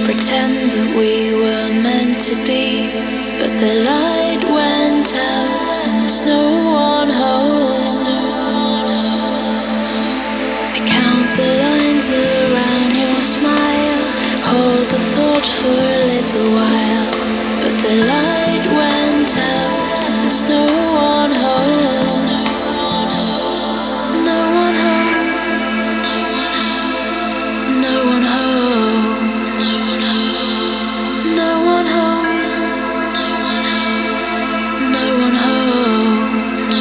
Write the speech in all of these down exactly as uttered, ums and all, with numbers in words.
pretend that we were meant to be, but the light went out and there's no one home. I count the lines around your smile, hold the thought for a little while, but the light went out and there's no one home. No one home. No one home. No one home. No one home.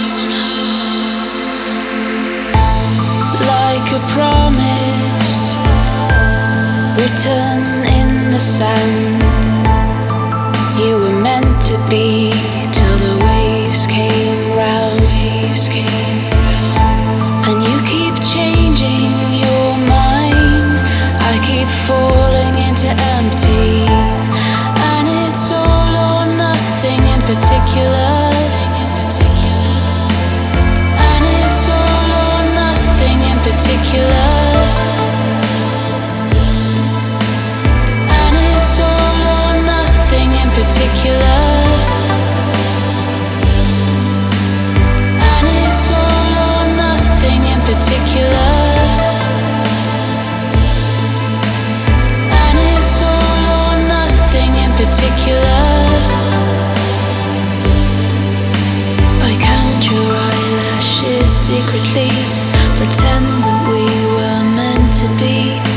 Like a promise written in the sand, you were meant to be till the waves came round. Waves came round. And you keep changing your mind. I keep falling into empty, and it's all or nothing in particular. And it's all or nothing in particular. And it's all or nothing in particular. And it's all or nothing in particular. And it's all or nothing in particular. I count your eyelashes secretly, pretend that we were meant to be.